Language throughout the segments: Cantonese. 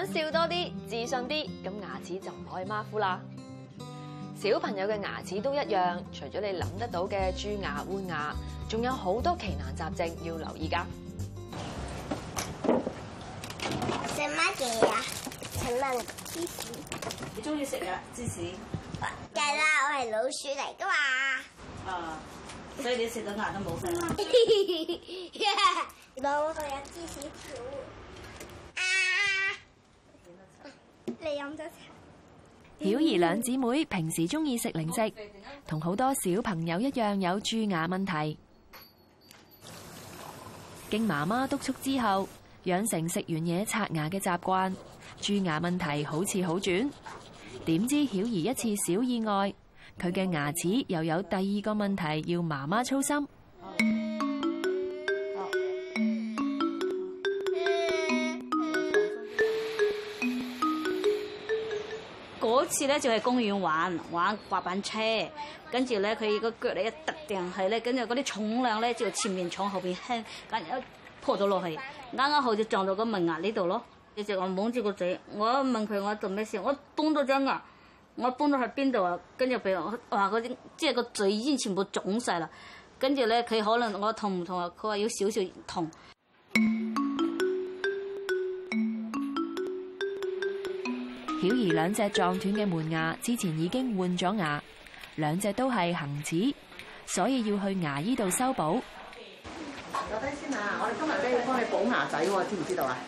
想笑多啲、自信啲，咁牙齒就唔可以馬虎啦。小朋友嘅牙齒都一樣，除咗你諗得到嘅蛀牙、換牙，仲有好多奇難雜症要留意㗎。 食乜嘢啊？請問芝士？ 你中意食啊芝士？ 梗係啦，我係老鼠嚟㗎嘛。 啊，所以你食到牙都冇聲啦。 老鼠有芝士條啊！你飲咗茶？ 曉兒兩姊妹平時中意食零食，同好多小朋友一樣有蛀牙問題。經媽媽督促之後，養成食完嘢刷牙嘅習慣，蛀牙問題好似好轉。點知曉兒一次小意外，佢嘅牙齒又有第二個問題要媽媽操心。 嗰次咧就係公園玩滑板車，跟住咧佢個腳咧一突定係咧，跟住嗰啲重量咧就前面重後邊輕，咁一撲咗落去，啱好就撞到個門牙呢度咯。一直我懵住個嘴，我問佢我做咩事，我崩咗張牙，我崩咗喺邊度啊？跟住俾我話嗰啲即係個嘴已經全部腫晒啦。跟住咧佢可能我痛唔痛啊？佢話要少少痛。 曉兒兩隻撞斷嘅門牙之前已經換咗牙，兩隻都係恆齒，所以要去牙醫度修補。 坐低先啊！我哋今日咧要幫你補牙仔喎，知唔知道啊？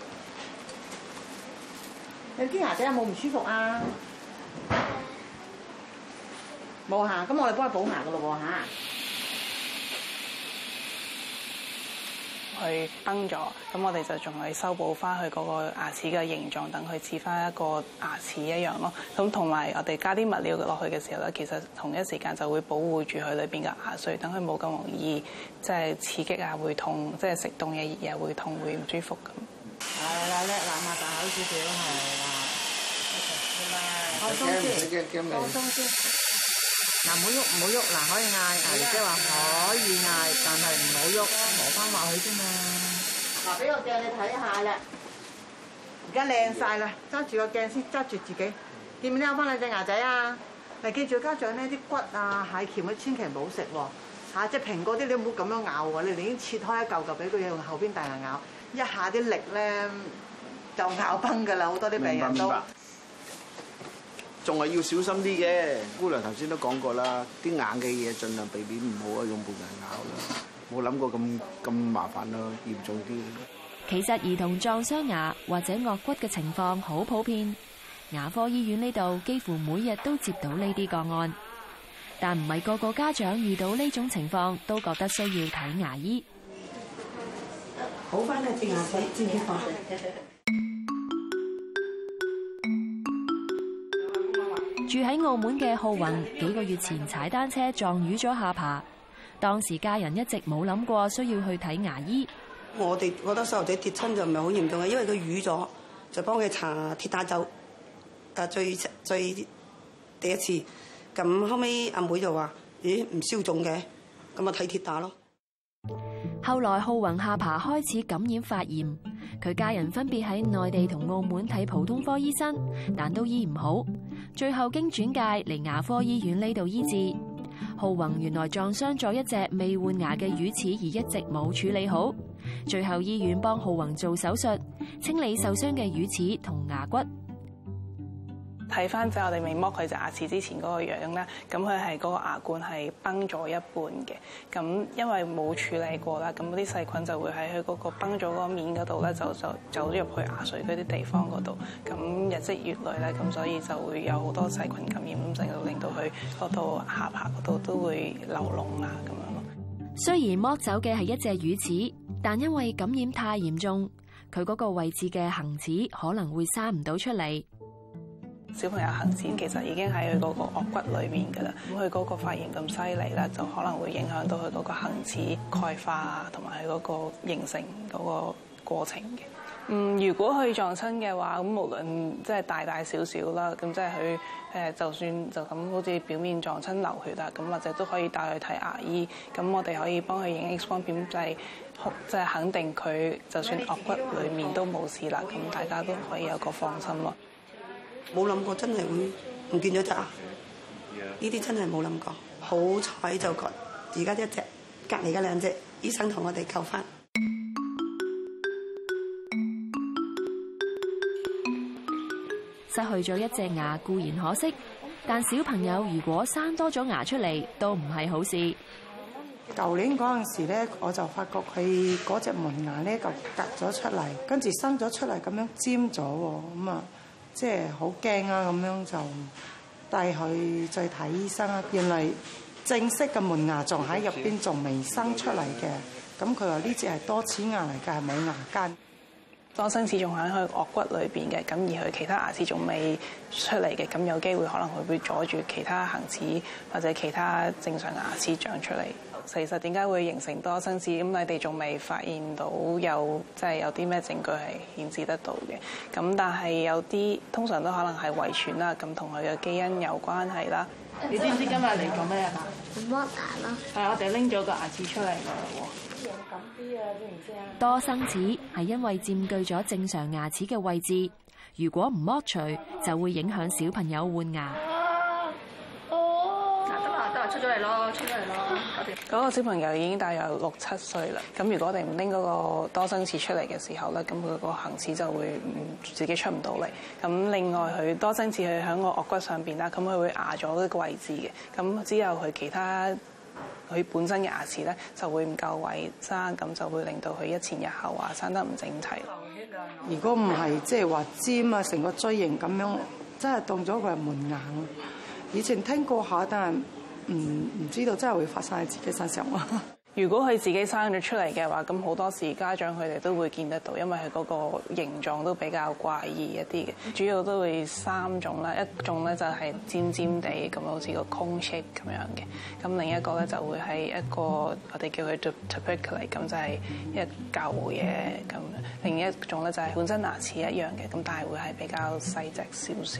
你啲牙仔有冇唔舒服啊？冇嚇，咁我哋幫佢補牙噶咯喎嚇。 佢崩咗，咁我哋就仲係修補翻佢嗰個牙齒嘅形狀，等佢似翻一個牙齒一樣咯。咁同埋我哋加啲物料落去嘅時候咧，其實同一時間就會保護住佢裏邊嘅牙髓，等佢冇咁容易即係刺激啊，會痛，即係食凍嘢熱嘢會痛，會唔舒服咁。 係啦，叻啦，擘大口少少係啦。放鬆先，放鬆先。嗱，唔好喐，唔好喐，嗱可以嗌，即係話可以嗌，但係唔好喐，磨翻落去啫嘛。嗱，俾個鏡你睇下啦，而家靚晒啦，揸住個鏡先，揸住自己，見唔見有翻兩隻牙仔啊？嗱，記住家長咧啲骨啊、蟹鉗咧，千祈唔好食喎。嚇，即係蘋果啲你唔好咁樣咬喎，你寧願切開一嚿嚿俾佢用後邊大牙咬，一下啲力咧就咬崩㗎啦，好多啲病人都。 仲係要小心啲嘅，姑娘頭先都講過啦，啲硬嘅嘢盡量避免唔好啊，用門牙咬啦，冇諗過咁麻煩咯，嚴重啲。 其實兒童撞傷牙或者顎骨嘅情況好普遍，牙科醫院呢度幾乎每日都接到呢啲個案，但唔係個個家長遇到呢種情況都覺得需要睇牙醫。 好翻啦，隻牙仔知唔知道？ 住喺澳門嘅浩宏幾個月前踩單車撞瘀咗下巴，當時家人一直冇諗過需要去睇牙醫。 我哋覺得細路仔跌親就唔係好嚴重嘅，因為佢瘀咗，就幫佢搽鐵打酒。最第一次，咁後尾阿妹就話：咦，唔消腫嘅，咁啊睇鐵打咯。 後來浩宏下巴開始感染發炎，佢家人分別喺內地同澳門睇普通科醫生，但都醫唔好，最後經轉介嚟牙科醫院呢度醫治。浩宏原來撞傷咗一隻未換牙嘅乳齒，而一直冇處理好，最後醫院幫浩宏做手術，清理受傷嘅乳齒同牙骨。 睇翻即係我哋未剝佢隻牙齒之前嗰個樣咧，咁佢係嗰個牙冠係崩咗一半嘅，咁因為冇處理過啦，咁嗰啲細菌就會喺佢嗰個崩咗嗰個面嗰度咧，就走咗入去牙髓嗰啲地方嗰度，咁日積月累咧，咁所以就會有好多細菌感染，咁就令到佢嗰度下巴嗰度都會流膿啊咁樣咯。 雖然剝走嘅係一隻乳齒，但因為感染太嚴重，佢嗰個位置嘅恆齒可能會生唔到出嚟。 小朋友恆齒其實已經喺佢嗰個顎骨裏面㗎啦，咁佢嗰個發炎咁犀利咧，就可能會影響到佢嗰個恆齒鈣化啊，同埋佢嗰個形成嗰個過程嘅。 如果佢撞親嘅話，咁無論即係大大小小啦，咁即係佢就算就咁好似表面撞親流血啊，咁或者都可以帶去睇牙醫。咁我哋可以幫佢影 X 光片，就係肯定佢就算顎骨裡面都冇事啦。咁大家都可以有個放心咯。 冇諗過真係會唔見咗隻牙，呢啲真係冇諗過。好彩就而家一隻，隔離嘅兩隻醫生同我哋救翻。 失去咗一隻牙固然可惜，但小朋友如果生多咗牙出嚟，都唔係好事。 舊年嗰陣時咧，我就發覺佢嗰隻門牙咧就隔咗出嚟，跟住生咗出嚟咁樣尖咗喎，咁啊即係好驚啊！咁樣就帶佢再睇醫生啊。原來正式嘅門牙仲喺入邊，仲未生出嚟嘅。咁佢話呢隻係多齒牙嚟嘅，係冇牙間。 多生齒仲喺佢顎骨裏邊嘅，咁而佢其他牙齒仲未出嚟嘅，咁有機會可能佢會阻住其他恆齒或者其他正常牙齒長出嚟。其實點解會形成多生齒？咁你哋仲未發現到有啲咩證據係顯示得到嘅。咁但係有啲通常都可能係遺傳啦，咁同佢嘅基因有關係啦。你知唔知今日嚟做咩啊？ 剝牙咯。 係，我哋拎咗個牙齒出嚟㗎喎。 多生齒係因為佔據咗正常牙齒嘅位置，如果唔剝除，就會影響小朋友換牙。 出咗嚟咯，嗰個小朋友已經大約6、7歲啦。咁如果我哋唔拎嗰個多生齒出嚟嘅時候咧，咁佢個恆齒就會自己出唔到嚟。咁另外佢多生齒佢喺個顎骨上邊啦，咁佢會壓咗呢個位置嘅。咁之後佢其他佢本身嘅牙齒咧就會唔夠位生，咁就會令到佢一前一後啊生得唔整齊。 如果唔係即係話尖啊，成個錐形咁樣，真係當咗佢係門牙。以前聽過下，但係唔知道真係會發生喺自己身上喎。 如果佢自己生咗出嚟嘅話，咁好多時家長佢哋都會見得到，因為佢嗰個形狀都比較怪異一啲嘅。主要都會3種啦，一種咧就係尖尖地咁，好似個 cone shape 咁樣嘅。咁另一個咧就會係一個我哋叫佢 tubercle， 咁就係一嚿嘢咁。另一種咧就係本身牙齒一樣嘅，咁但係會係比較細隻少少。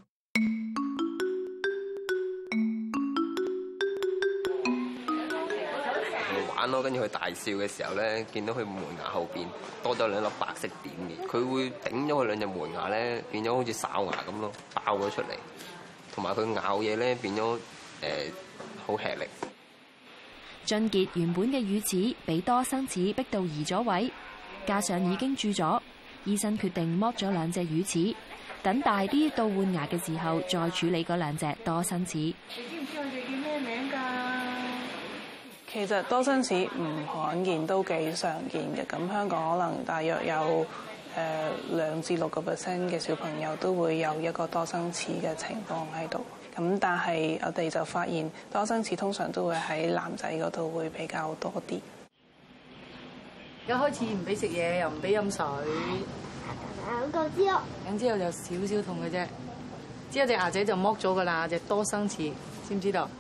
玩咯，跟住佢大笑嘅時候咧，見到佢門牙後邊多咗2粒白色點嘅，佢會頂咗佢2隻門牙咧，變咗好似哨牙咁咯，爆咗出嚟。同埋佢咬嘢咧，變咗好吃力。 俊傑原本嘅乳齒俾多生齒逼到移咗位，加上已經蛀咗，醫生決定剝咗2隻乳齒，等大啲到換牙嘅時候再處理嗰2隻多生齒。 你知唔知我哋叫咩名㗎？ 其實多生齒唔罕見，都幾常見嘅。咁香港可能大約有2至6% 嘅小朋友都會有一個多生齒嘅情況喺度。咁但係我哋就發現多生齒通常都會喺男仔嗰度會比較多啲。 而家開始唔俾食嘢，又唔俾飲水。 兩個之後， 咁之後就少少痛嘅啫。之後隻牙仔就剝咗㗎啦，隻多生齒，知唔知道？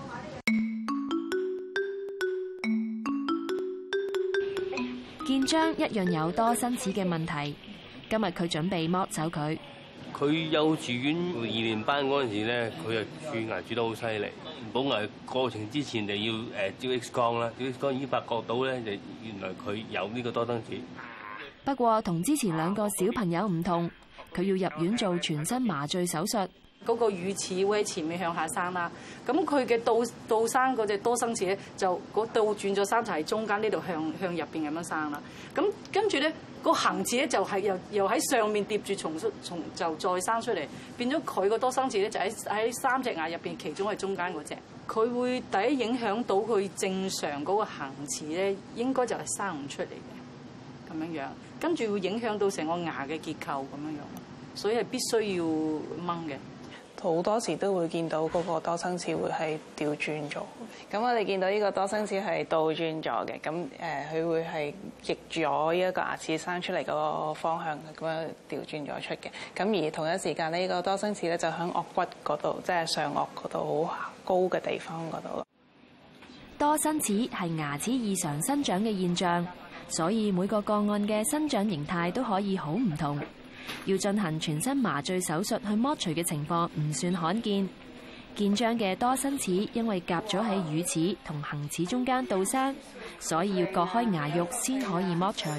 建章一樣有多生齒嘅問題，今日佢準備剝走佢。 佢幼稚園2年班嗰陣時咧，佢就蛀牙蛀得好犀利。補牙過程之前就要照 X 光啦，照 X 光已經發覺到咧，就原來佢有呢個多生齒。 不過同之前2個小朋友唔同，佢要入院做全身麻醉手術。 嗰個乳齒會喺前面向下生啦，咁佢嘅倒生嗰隻多生齒咧就倒轉咗3層喺中間呢度向入邊咁樣生啦，咁跟住咧個恆齒咧就係又喺上面疊住重就再生出嚟，變咗佢個多生齒咧就喺3隻牙入邊其中係中間嗰隻，佢會第一影響到佢正常嗰個恆齒咧，應該就係生唔出嚟嘅咁樣樣，跟住會影響到成個牙嘅結構咁樣樣，所以係必須要掹嘅。 好多時都會見到嗰個多生齒會係調轉咗。咁我哋見到呢個多生齒係倒轉咗嘅，咁佢會係逆咗一個牙齒生出嚟嗰個方向咁樣調轉咗出嘅。咁而同一時間呢個多生齒咧就喺顎骨嗰度，即係上顎嗰度好高嘅地方嗰度。 多生齒係牙齒異常生長嘅現象， 所以每個個案嘅生長形態都可以好唔同。要進行全身麻醉手術去剝除嘅情況唔算罕見。健彰嘅多生齒因為夾咗喺乳齒同恆齒中間倒生，所以要割開牙肉先可以剝除。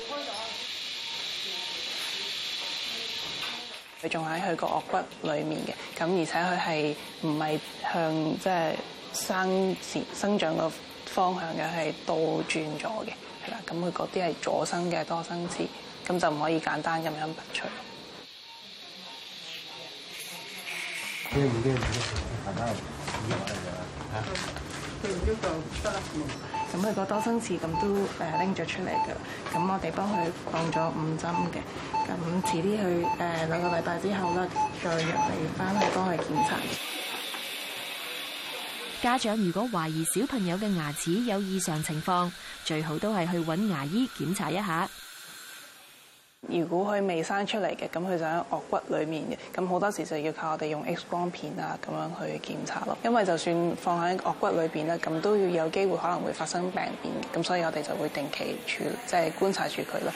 佢仲喺佢個顎骨裡面嘅，咁而且佢係唔係向即係生長個方向嘅，係倒轉咗嘅，係啦。咁佢嗰啲係左生嘅多生齒，咁就唔可以簡單咁樣拔除。咁佢個多生齒咁都拎咗出嚟㗎，咁我哋幫佢放咗5針嘅，咁遲啲去2個禮拜之後咧，再入嚟翻去幫佢檢查。 家長如果懷疑小朋友嘅牙齒有異常情況，最好都係去揾牙醫檢查一下。 如果佢未生出嚟嘅，咁佢就喺顎骨裡面嘅，咁好多時就要靠我哋用 X 光片啊咁樣去檢查咯。因為就算放喺顎骨裏邊咧，咁都要有機會可能會發生病變，咁所以我哋就會定期即係觀察住佢咯。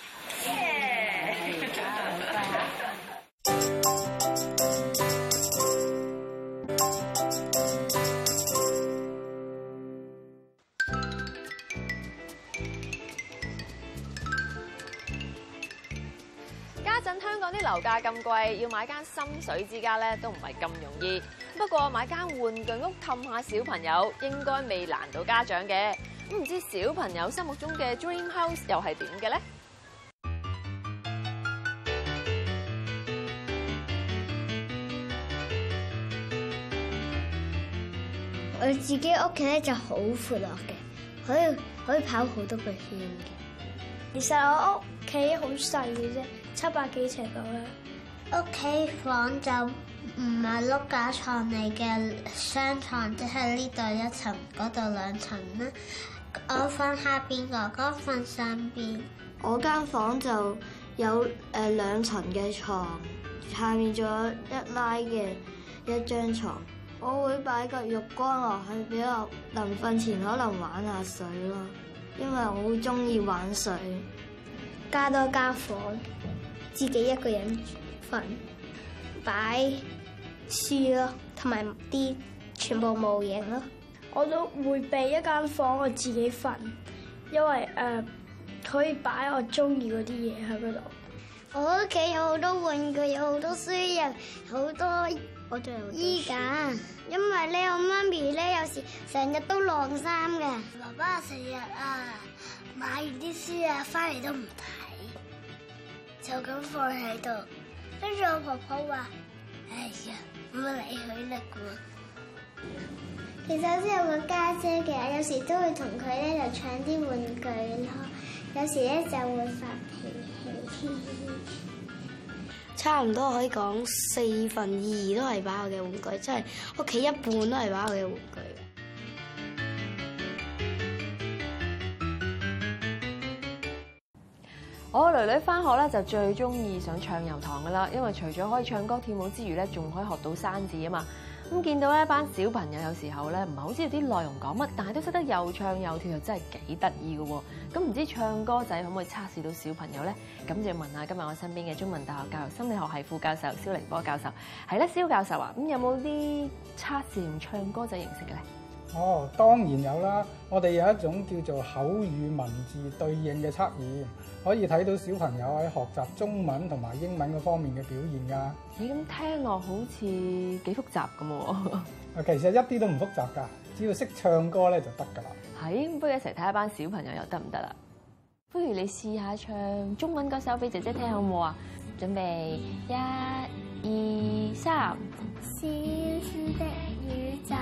家陣香港啲樓價咁貴，要買間心水之家咧都唔係咁容易。不過買間玩具屋氹下小朋友，應該未難到家長嘅。咁唔知小朋友心目中嘅 dream house 又係點嘅咧？ 我自己屋企咧就好闊落嘅，可以跑好多個圈嘅。其實我屋企好細嘅啫，700幾尺度啦。屋企房就唔係碌架床嚟嘅，雙床，即係呢度1層，嗰度2層啦。我瞓下邊，哥哥瞓上邊。 我間房就有2層嘅床，下面仲有1拉嘅1張床。我會擺個浴缸落去，俾我臨瞓前可能玩下水咯，因為我好中意玩水。 加多間房，自己一個人瞓，擺書咯，同埋啲全部模型咯。 我都會備一間房我自己瞓，因為可以擺我中意嗰啲嘢喺嗰度。 我屋企有好多玩具，有好多書，有好多衣架。因為咧，我媽咪咧有時成日都晾衫嘅。爸爸成日買完啲書翻嚟都唔睇，就咁放喺度。跟住我婆婆話：哎呀，唔好理佢啦啩。其實我都有個家姐嘅，有時都會同佢咧就搶啲玩具咯，有時咧就會發脾氣。 差唔多可以講2/4都係擺我嘅玩具，即係屋企一半都係擺我嘅玩具。 我個女女返學咧就最中意上唱遊堂噶啦，因為除咗可以唱歌跳舞之餘咧，仲可以學到生字啊嘛。咁見到一班小朋友有時候咧唔係好知道啲內容講乜，但係都識得又唱又跳，又真係幾得意嘅喎。咁唔知唱歌仔可唔可以測試到小朋友咧？咁就要問下今日我身邊嘅中文大學教育心理學系副教授蕭凌波教授。係咧，蕭教授啊，咁有冇啲測試用唱歌仔形式嘅咧？ 哦，當然有啦！我哋有一種叫做口語文字對應嘅測驗，可以睇到小朋友喺學習中文同埋英文嗰方面嘅表現㗎。 咦，咁聽落好似幾複雜咁喎？ 其實一啲都唔複雜㗎，只要識唱歌咧就得㗎啦。 係，不如一齊睇下班小朋友又得唔得啦？不如你試下唱中文嗰首俾姐姐聽好唔好啊？準備1、2、3。 小小的宇宙，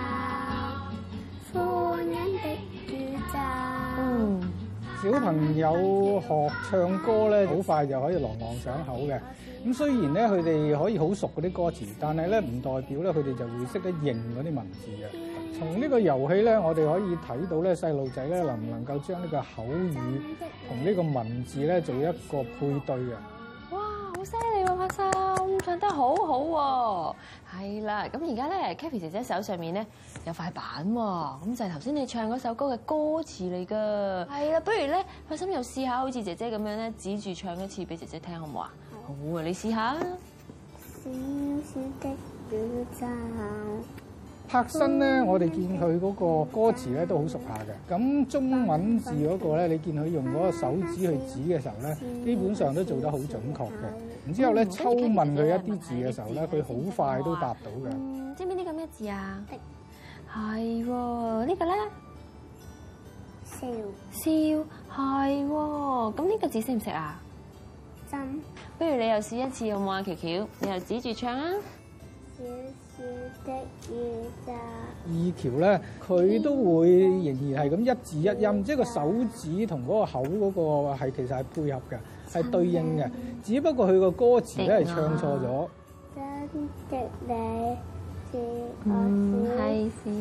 歡欣的宇宙。 小朋友學唱歌咧，好快就可以朗朗上口嘅。咁雖然咧佢哋可以好熟嗰啲歌詞，但係咧唔代表咧佢哋就會識得認嗰啲文字嘅。從呢個遊戲咧，我哋可以睇到咧細路仔咧能唔能夠將呢個口語同呢個文字咧做一個配對嘅。 哇，好犀利喎！ 開心，唱得好好喎。係啦，咁而家咧 Kathy 姐姐手上面咧有塊板喎，咁就係頭先你唱嗰首歌嘅歌詞嚟㗎。係啦，不如咧開心又試下好似姐姐咁樣咧，指住唱一次俾姐姐聽好唔好啊？好啊，你試下。 小小的宇宙。 柏新咧，我哋見佢嗰個歌詞咧都好熟下嘅。咁中文字嗰個咧，你見佢用嗰個手指去指嘅時候咧，基本上都做得好準確嘅。然之後咧，抽問佢一啲字嘅時候咧，佢好快都答到嘅。 知唔知呢個咩字啊？係喎，呢個咧笑係喎。咁呢個字識唔識啊？ 針。 不如你又試一次好唔好啊？喬喬，你又指住唱啊！ 小小的宇宙。 二橋咧，佢都會仍然係咁一字一音，即係個手指同嗰個口嗰個係其實係配合嘅，係對應嘅。只不過佢個歌詞咧係唱錯咗。 真的你是我小，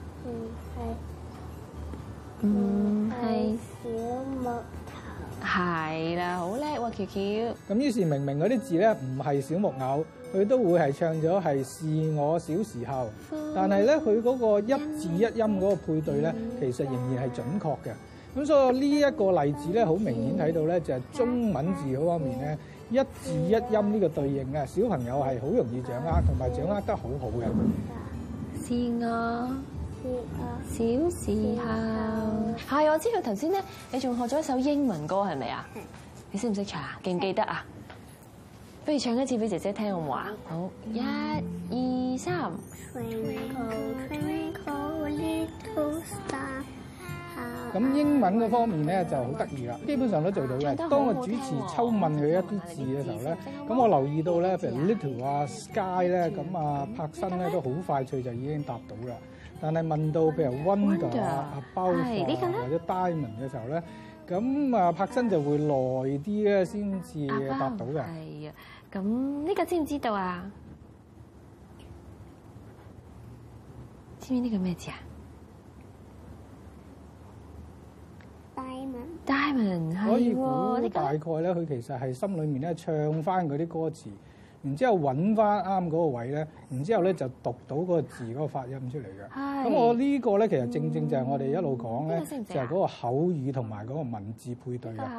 唔係小木頭。 係啦，好叻喎，喬喬。 咁於是明明嗰啲字咧唔係小木偶，佢都會係唱咗係是我小時候，但係咧佢嗰個一字一音嗰個配對咧，其實仍然係準確嘅。咁所以呢一個例子咧，好明顯睇到咧，就係中文字嗰方面咧，一字一音呢個對應啊，小朋友係好容易掌握，同埋掌握得好好嘅。 是我小時候，係我知道頭先咧，你仲學咗一首英文歌係咪啊？你識唔識唱啊？記唔記得啊？不如唱一次俾姐姐聽好唔好啊？好，1、2、3。 咁英文嗰方面咧就好得意啦，基本上都做到嘅。當我主持抽問佢一啲字嘅時候咧，咁我留意到咧，譬如 little 啊、sky 咧，咁啊柏新咧都好快脆就已經答到啦。但係問到譬如 wonder 啊、above 啊或者 diamond 嘅時候咧，咁啊柏新就會耐啲咧先至答到嘅。 係啊，咁呢個知唔知道啊？知唔知呢個咩字啊？Diamond 係喎， 可以估大概咧，佢其實係心裏面咧唱翻嗰啲歌詞，然之後揾翻啱嗰個位咧，然之後咧就讀到嗰個字嗰個發音出嚟嘅。咁我呢個咧其實正正就係我哋一路講咧，就係嗰個口語同埋嗰個文字配對嘅。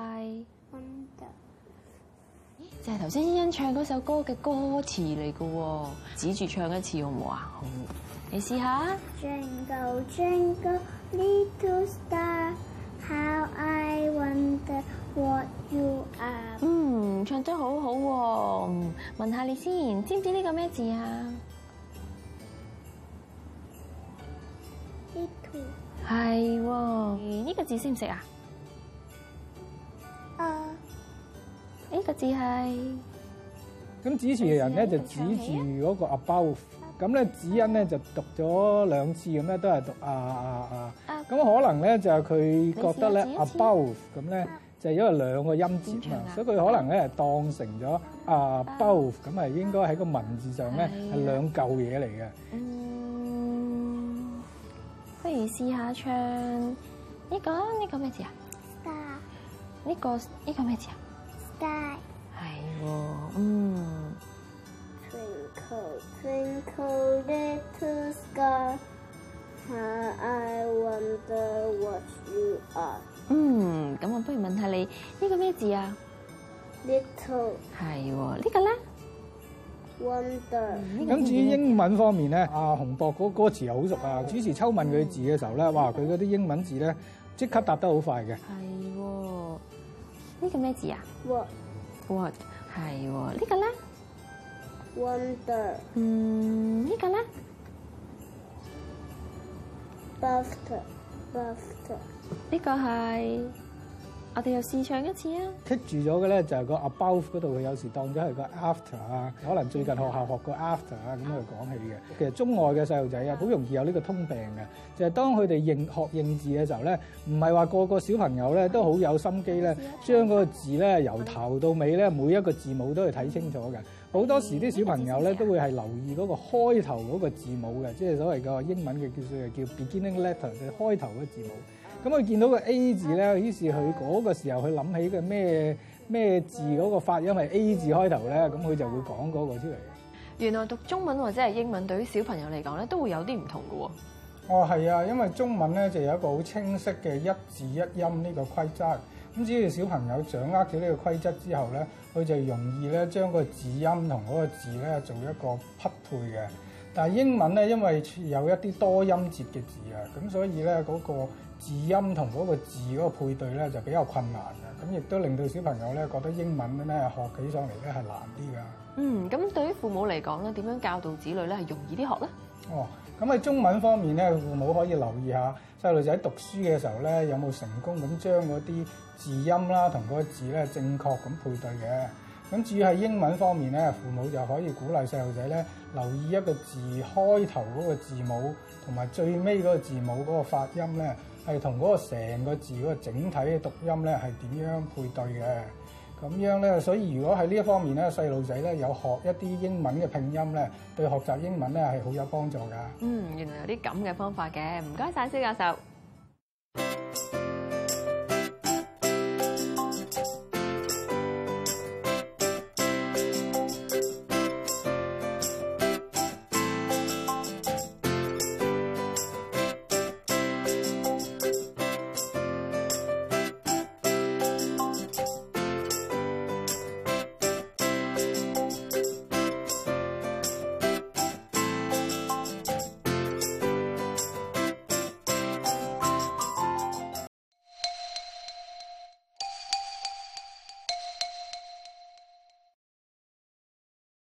就係頭先欣欣唱嗰首歌嘅歌詞嚟嘅喎，指住唱一次好唔好啊？好，你試下。 Jingle jingle little star。How I wonder what you are。 唱得好好喎。問下你先，知唔知呢個咩字啊？ 呢圖。 係喎，呢個字識唔識啊？呢個字係。 咁主持嘅人咧就指住嗰個 above， 咁咧子欣咧就讀咗2次咁咧，都係讀咁可能咧就係佢覺得咧 above 咁咧就係因為2個音節嘛，所以佢可能咧係當成咗above 咁係應該喺個文字上咧係2嚿嘢嚟嘅。 不如試下唱呢個咩字啊 ？Star。 呢個咩字啊 ？Sky。 係喎 Twinkle twinkle little star。How I wonder what you are。 咁我不如問下你呢個咩字啊 ？Little。 係喎，呢個咧 ？Wonder。 咁至於英文方面咧，阿洪博嗰歌詞又好熟啊！主持抽問佢字嘅時候咧，哇！佢嗰啲英文字咧即刻答得好快嘅。 係喎，呢個咩字啊 ？What。 係喎，呢個咧 ？Wonder。 呢個咧 ？Buster。 呢個係，我哋又試唱一次啊！ 棘住咗嘅咧就係個 above 嗰度，佢有時當咗係個 after 啊，可能最近學校學過 after 啊咁去講起嘅。其實中外嘅細路仔啊，好容易有呢個通病嘅，就係當佢哋學認字嘅時候咧，唔係話個個小朋友咧都好有心機咧，將嗰個字咧由頭到尾咧每一個字母都去睇清楚嘅。好多時啲小朋友咧都會係留意嗰個開頭嗰個字母嘅，即係所謂個英文嘅叫 beginning letter，就係開頭嗰個字母。咁佢見到個 A 字咧，於是佢嗰個時候佢諗起嘅咩咩字嗰個發音係 A 字開頭咧，咁佢就會講嗰個出嚟。 原來讀中文或者係英文對於小朋友嚟講咧，都會有啲唔同嘅喎。 哦，係啊，因為中文咧就有一個好清晰嘅一字一音呢個規則。咁只要小朋友掌握咗呢個規則之後咧，佢就容易咧將個字音同嗰個字咧做一個匹配嘅。但係英文咧，因為有一啲多音節嘅字啊，咁所以咧嗰個字音同嗰個字嗰個配對咧就比較困難嘅。咁亦都令到小朋友咧覺得英文咧學起上嚟咧係難啲㗎。 咁對於父母嚟講咧，點樣教導子女咧係容易啲學咧？ 哦，咁喺中文方面咧，父母可以留意下細路仔讀書嘅時候咧，有冇成功咁將嗰啲字音啦同嗰個字咧正確咁配對嘅。咁至於喺英文方面咧，父母就可以鼓勵細路仔咧留意一個字開頭嗰個字母同埋最尾嗰個字母嗰個發音咧，係同嗰個成個字嗰個整體嘅讀音咧係點樣配對嘅。咁樣咧，所以如果喺呢一方面咧，細路仔咧有學一啲英文嘅拼音咧，對學習英文咧係好有幫助㗎。 原來有啲咁嘅方法嘅，唔該晒蕭教授。